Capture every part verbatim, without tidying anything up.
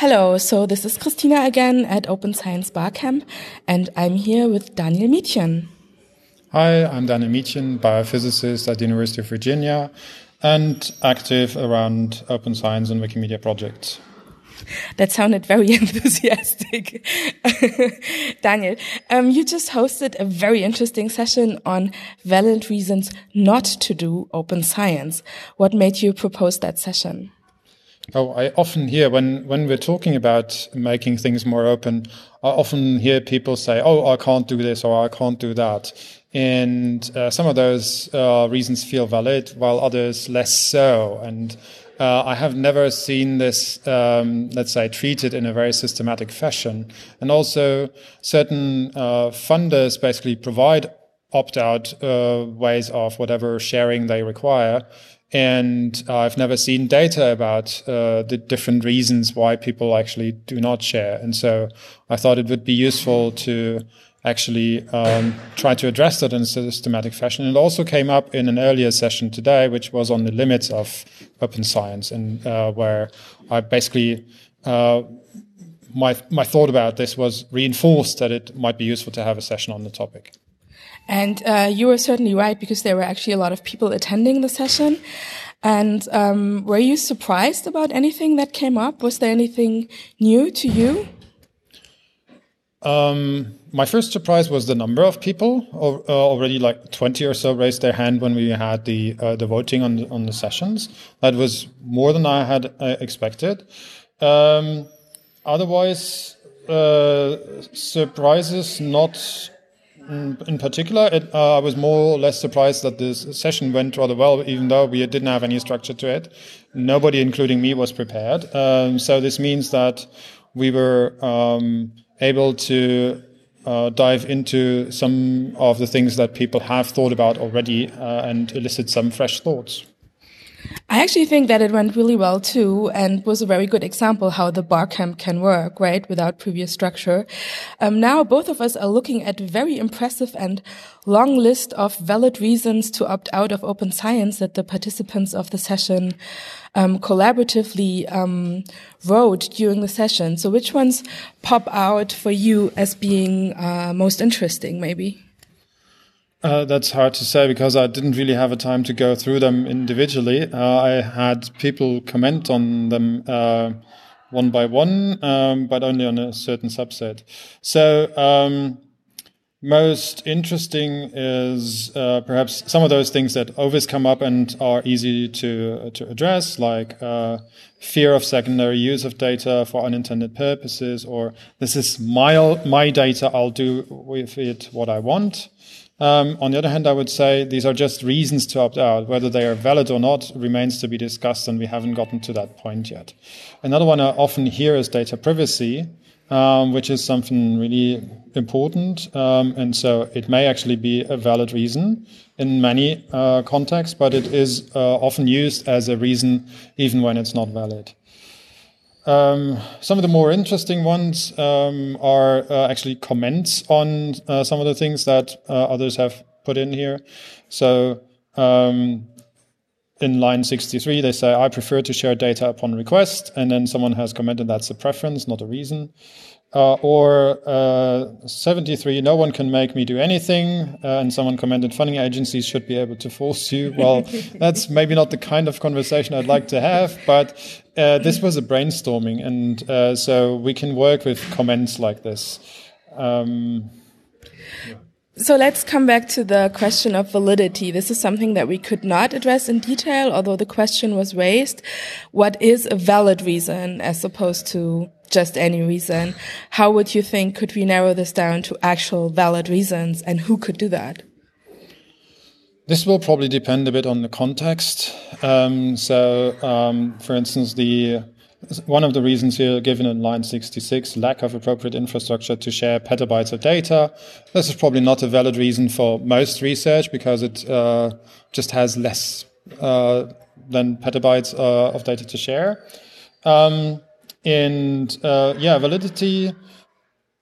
Hello, so this is Christina again at Open Science Barcamp, and I'm here with Daniel Mietjen. Hi, I'm Daniel Mietjen, biophysicist at the University of Virginia, and active around open science and Wikimedia projects. That sounded very enthusiastic. Daniel, um, you just hosted a very interesting session on valid reasons not to do open science. What made you propose that session? Oh, I often hear when, when we're talking about making things more open, I often hear people say, oh, I can't do this or I can't do that. And uh, some of those uh, reasons feel valid, while others less so. And uh, I have never seen this, um, let's say, treated in a very systematic fashion. And also, certain uh, funders basically provide opt-out uh, ways of whatever sharing they require. And uh, I've never seen data about uh, the different reasons why people actually do not share. And so I thought it would be useful to actually um, try to address that in a systematic fashion. It also came up in an earlier session today, which was on the limits of open science, and uh, where I basically uh, my my thought about this was reinforced that it might be useful to have a session on the topic. And uh, you were certainly right, because there were actually a lot of people attending the session. And um, were you surprised about anything that came up? Was there anything new to you? Um, my first surprise was the number of people. Uh, already like twenty or so raised their hand when we had the uh, the voting on the, on the sessions. That was more than I had uh, expected. Um, otherwise, uh, surprises not in particular. It, uh, I was more or less surprised that this session went rather well, even though we didn't have any structure to it. Nobody, including me, was prepared. Um, so this means that we were um, able to uh, dive into some of the things that people have thought about already uh, and elicit some fresh thoughts. I actually think that it went really well too, and was a very good example how the Barcamp can work, right, without previous structure. Um, now both of us are looking at a very impressive and long list of valid reasons to opt out of open science that the participants of the session um, collaboratively um, wrote during the session. So which ones pop out for you as being uh, most interesting, maybe? Uh, that's hard to say, because I didn't really have a time to go through them individually. Uh, I had people comment on them uh, one by one, um, but only on a certain subset. So um, most interesting is uh, perhaps some of those things that always come up and are easy to to address, like uh, fear of secondary use of data for unintended purposes, or this is my my data, I'll do with it what I want. Um, on the other hand, I would say these are just reasons to opt out. Whether they are valid or not remains to be discussed, and we haven't gotten to that point yet. Another one I often hear is data privacy, um, which is something really important. Um, and so it may actually be a valid reason in many uh, contexts, but it is uh, often used as a reason even when it's not valid. Um, some of the more interesting ones um, are uh, actually comments on uh, some of the things that uh, others have put in here. So um, in line sixty-three, they say, I prefer to share data upon request. And then someone has commented that's a preference, not a reason. Uh, or uh, seventy-three, no one can make me do anything. Uh, and someone commented, funding agencies should be able to force you. Well, that's maybe not the kind of conversation I'd like to have, but uh, this was a brainstorming. And uh, so we can work with comments like this. Um, yeah. So let's come back to the question of validity. This is something that we could not address in detail, although the question was raised. What is a valid reason as opposed to just any reason? How would you think could we narrow this down to actual valid reasons, and who could do that? This will probably depend a bit on the context. Um, so, um, for instance, the one of the reasons here given in line sixty-six, lack of appropriate infrastructure to share petabytes of data. This is probably not a valid reason for most research, because it uh, just has less uh, than petabytes uh, of data to share. Um, and uh, yeah, validity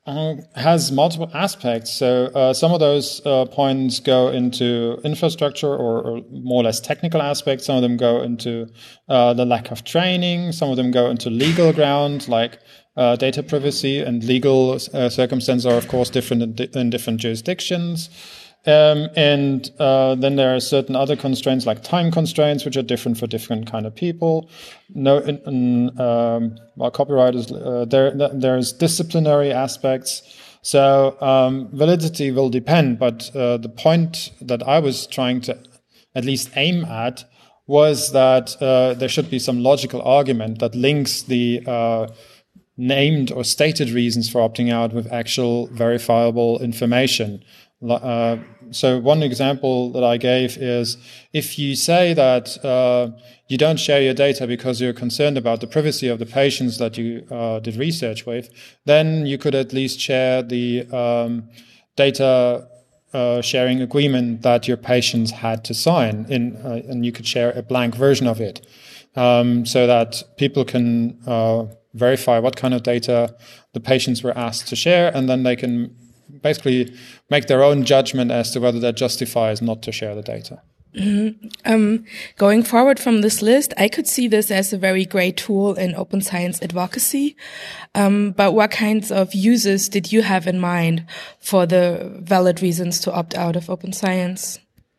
Uh, has multiple aspects. So uh, some of those uh, points go into infrastructure or, or more or less technical aspects. Some of them go into uh, the lack of training. Some of them go into legal ground, like uh, data privacy, and legal uh, circumstances are, of course, different in, di- in different jurisdictions. Um, and uh, then there are certain other constraints, like time constraints, which are different for different kind of people. No, in, in, um, well, copyright is uh, there. There's disciplinary aspects. So um, validity will depend. But uh, the point that I was trying to at least aim at was that uh, there should be some logical argument that links the uh, named or stated reasons for opting out with actual verifiable information. Uh, so one example that I gave is if you say that uh, you don't share your data because you're concerned about the privacy of the patients that you uh, did research with, then you could at least share the um, data uh, sharing agreement that your patients had to sign, in, uh, and you could share a blank version of it, um, so that people can uh, verify what kind of data the patients were asked to share, and then they can basically make their own judgment as to whether that justifies not to share the data. Mm-hmm. Um, going forward from this list, I could see this as a very great tool in open science advocacy. Um, but what kinds of uses did you have in mind for the valid reasons to opt out of open science?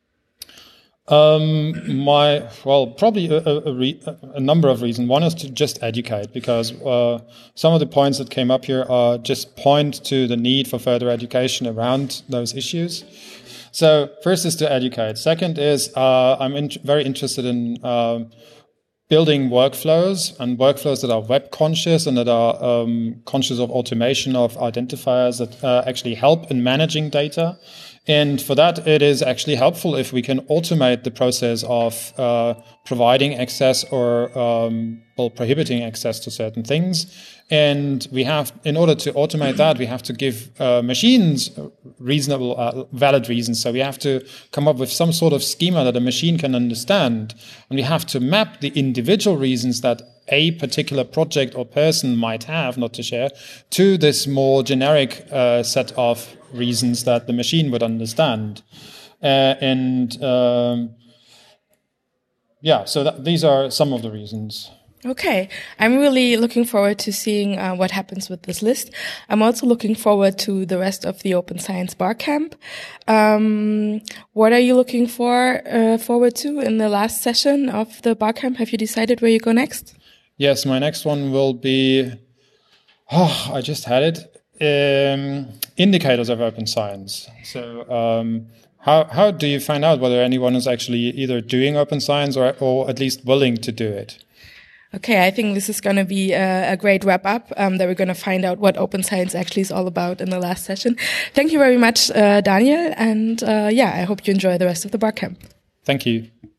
Um, my, well, probably a, a, re, a number of reasons. One is to just educate, because uh, some of the points that came up here are just point to the need for further education around those issues. So first is to educate. Second is uh, I'm in, very interested in uh, building workflows, and workflows that are web conscious and that are um, conscious of automation of identifiers that uh, actually help in managing data. And for that, it is actually helpful if we can automate the process of uh, providing access or um, well, prohibiting access to certain things. And we have, in order to automate that, we have to give uh, machines reasonable, uh, valid reasons. So we have to come up with some sort of schema that a machine can understand. And we have to map the individual reasons that a particular project or person might have not to share to this more generic uh, set of reasons that the machine would understand. Uh, and um, yeah, so that, these are some of the reasons. Okay. I'm really looking forward to seeing uh, what happens with this list. I'm also looking forward to the rest of the Open Science Barcamp. Um, what are you looking for uh, forward to in the last session of the Barcamp? Have you decided where you go next? Yes, my next one will be, oh, I just had it, um, indicators of open science. So um, how how do you find out whether anyone is actually either doing open science or, or at least willing to do it? Okay, I think this is going to be a, a great wrap up, um, that we're going to find out what open science actually is all about in the last session. Thank you very much, uh, Daniel. And uh, yeah, I hope you enjoy the rest of the Barcamp. Thank you.